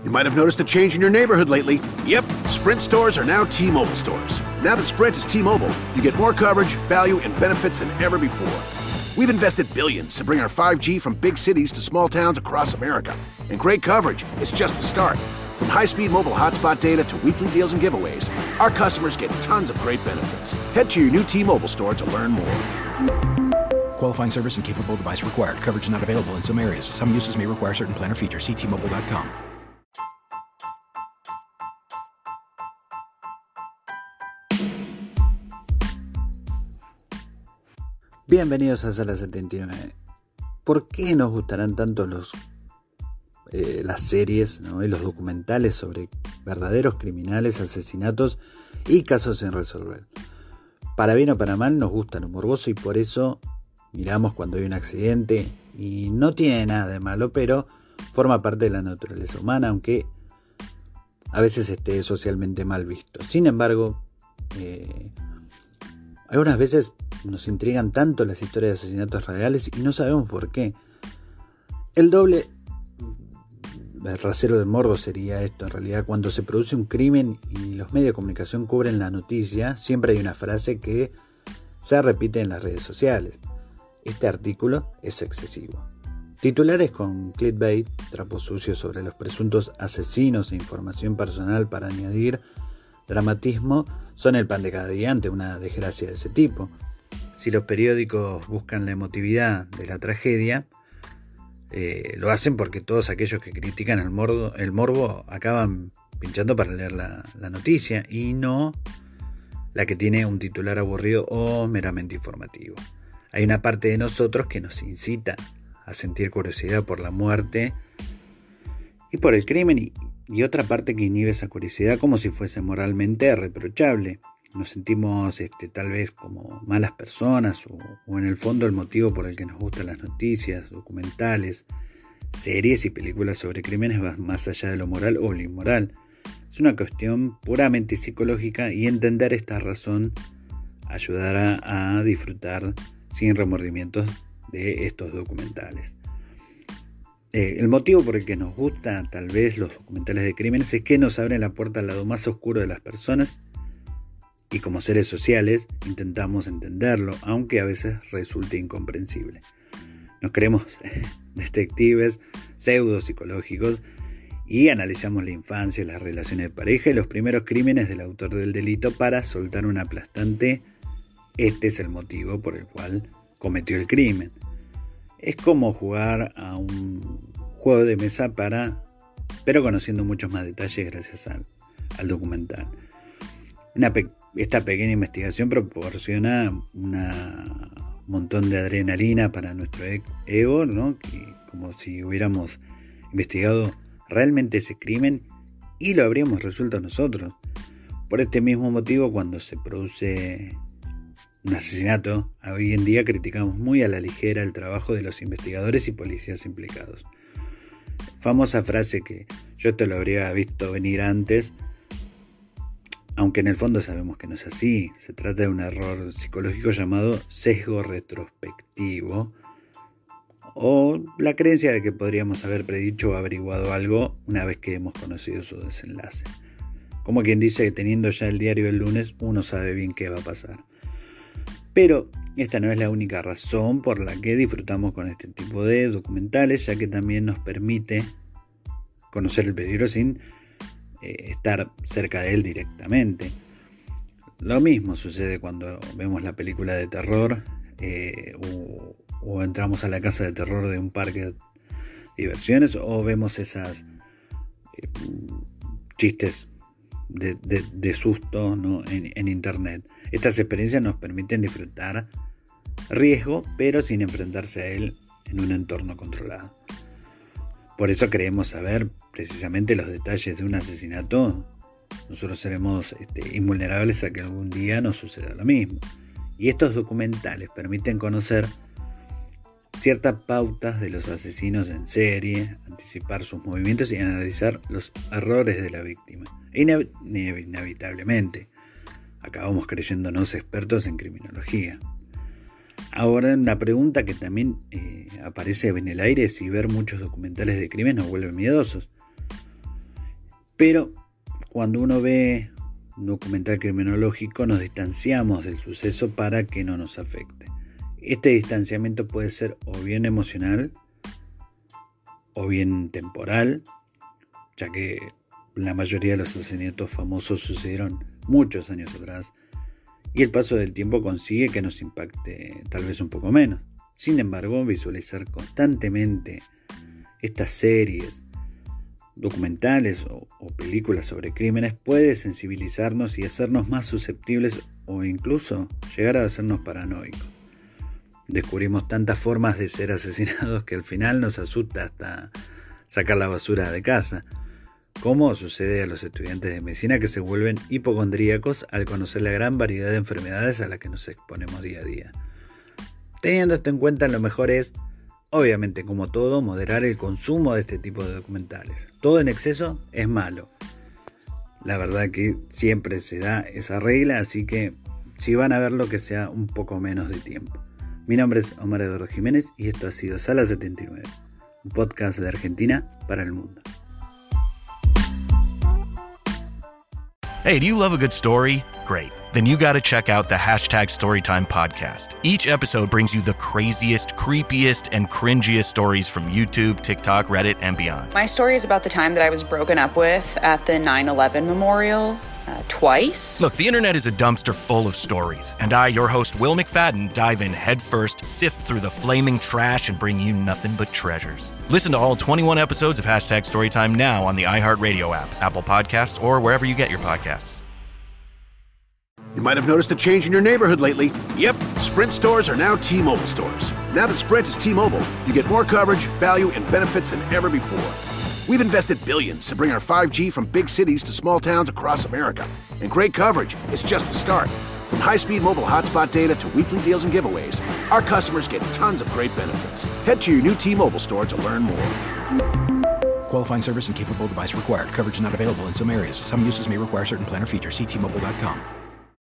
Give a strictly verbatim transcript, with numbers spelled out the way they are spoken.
You might have noticed a change in your neighborhood lately. Yep, Sprint stores are now T-Mobile stores. Now that Sprint is T-Mobile, you get more coverage, value, and benefits than ever before. We've invested billions to bring our five G from big cities to small towns across America. And great coverage is just the start. From high-speed mobile hotspot data to weekly deals and giveaways, our customers get tons of great benefits. Head to your new T-Mobile store to learn more. Qualifying service and capable device required. Coverage not available in some areas. Some uses may require certain plan or features. See T Mobile dot com. Bienvenidos a Sala setenta y nueve. ¿Por qué nos gustarán tanto los, eh, las series, ¿no? y los documentales sobre verdaderos criminales, asesinatos y casos sin resolver? Para bien o para mal nos gusta lo morboso y por eso miramos cuando hay un accidente y no tiene nada de malo, pero forma parte de la naturaleza humana, aunque a veces esté socialmente mal visto. Sin embargo, eh, algunas veces nos intrigan tanto las historias de asesinatos reales y no sabemos por qué. El doble, el rasero del morbo sería esto en realidad. Cuando se produce un crimen y los medios de comunicación cubren la noticia, siempre hay una frase que se repite en las redes sociales: este artículo es excesivo. Titulares con clickbait, trapos sucios sobre los presuntos asesinos e información personal para añadir dramatismo son el pan de cada día ante una desgracia de ese tipo. Si los periódicos buscan la emotividad de la tragedia, eh, lo hacen porque todos aquellos que critican el morbo, el morbo acaban pinchando para leer la, la noticia y no la que tiene un titular aburrido o meramente informativo. Hay una parte de nosotros que nos incita a sentir curiosidad por la muerte y por el crimen y, y otra parte que inhibe esa curiosidad como si fuese moralmente reprochable. Nos sentimos este, tal vez como malas personas o, o en el fondo el motivo por el que nos gustan las noticias, documentales, series y películas sobre crímenes va más allá de lo moral o lo inmoral. Es una cuestión puramente psicológica y entender esta razón ayudará a disfrutar sin remordimientos de estos documentales. Eh, el motivo por el que nos gustan tal vez los documentales de crímenes es que nos abren la puerta al lado más oscuro de las personas y como seres sociales intentamos entenderlo, aunque a veces resulte incomprensible. Nos creemos detectives pseudo psicológicos y analizamos la infancia, las relaciones de pareja y los primeros crímenes del autor del delito para soltar un aplastante: este es el motivo por el cual cometió el crimen. Es como jugar a un juego de mesa para, pero conociendo muchos más detalles gracias al, al documental. Una pe- esta pequeña investigación proporciona un montón de adrenalina para nuestro ego, ¿no? Que, como si hubiéramos investigado realmente ese crimen y lo habríamos resuelto nosotros. Por este mismo motivo, cuando se produce un asesinato, hoy en día criticamos muy a la ligera el trabajo de los investigadores y policías implicados. Famosa frase que yo esto lo habría visto venir antes, aunque en el fondo sabemos que no es así. Se trata de un error psicológico llamado sesgo retrospectivo o la creencia de que podríamos haber predicho o averiguado algo una vez que hemos conocido su desenlace. Como quien dice que teniendo ya el diario del lunes uno sabe bien qué va a pasar. Pero esta no es la única razón por la que disfrutamos con este tipo de documentales, ya que también nos permite conocer el peligro sin eh, estar cerca de él directamente. Lo mismo sucede cuando vemos la película de terror eh, o, o entramos a la casa de terror de un parque de diversiones o vemos esas eh, chistes de, de, de susto, ¿no? en, en internet. Estas experiencias nos permiten disfrutar riesgo, pero sin enfrentarse a él en un entorno controlado. Por eso queremos saber precisamente los detalles de un asesinato. Nosotros seremos este, invulnerables a que algún día nos suceda lo mismo. Y estos documentales permiten conocer ciertas pautas de los asesinos en serie, anticipar sus movimientos y analizar los errores de la víctima. E inev- inevitablemente acabamos creyéndonos expertos en criminología. Ahora, una pregunta que también eh, aparece en el aire es si ver muchos documentales de crimen nos vuelve miedosos. Pero cuando uno ve un documental criminológico nos distanciamos del suceso para que no nos afecte. Este distanciamiento puede ser o bien emocional o bien temporal, ya que la mayoría de los asesinatos famosos sucedieron muchos años atrás y el paso del tiempo consigue que nos impacte tal vez un poco menos. Sin embargo, visualizar constantemente estas series, documentales o, o películas sobre crímenes puede sensibilizarnos y hacernos más susceptibles o incluso llegar a hacernos paranoicos. Descubrimos tantas formas de ser asesinados que al final nos asusta hasta sacar la basura de casa, como sucede a los estudiantes de medicina que se vuelven hipocondríacos al conocer la gran variedad de enfermedades a las que nos exponemos día a día. Teniendo esto en cuenta, lo mejor es, obviamente como todo, moderar el consumo de este tipo de documentales. Todo en exceso es malo. La verdad que siempre se da esa regla, así que si van a verlo, que sea un poco menos de tiempo. Mi nombre es Omar Eduardo Jiménez y esto ha sido Sala setenta y nueve, un podcast de Argentina para el mundo. Hey, do you love a good story? Great. Then you got to check out the Hashtag Storytime podcast. Each episode brings you the craziest, creepiest, and cringiest stories from YouTube, TikTok, Reddit, and beyond. My story is about the time that I was broken up with at the nine eleven memorial. Uh, twice. Look, the internet is a dumpster full of stories, and I, your host, Will McFadden, dive in headfirst, sift through the flaming trash, and bring you nothing but treasures. Listen to all twenty-one episodes of Hashtag Storytime now on the iHeartRadio app, Apple Podcasts, or wherever you get your podcasts. You might have noticed a change in your neighborhood lately. Yep, Sprint stores are now T-Mobile stores. Now that Sprint is T-Mobile, you get more coverage, value, and benefits than ever before. We've invested billions to bring our five G from big cities to small towns across America. And great coverage is just the start. From high-speed mobile hotspot data to weekly deals and giveaways, our customers get tons of great benefits. Head to your new T-Mobile store to learn more. Qualifying service and capable device required. Coverage not available in some areas. Some uses may require certain plan or features. See T Mobile dot com.